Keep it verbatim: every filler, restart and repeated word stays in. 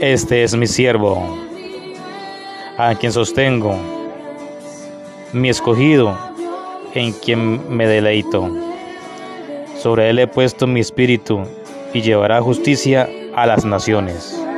Este es mi siervo, a quien sostengo, mi escogido, en quien me deleito. Sobre él he puesto mi espíritu, y llevará justicia a las naciones.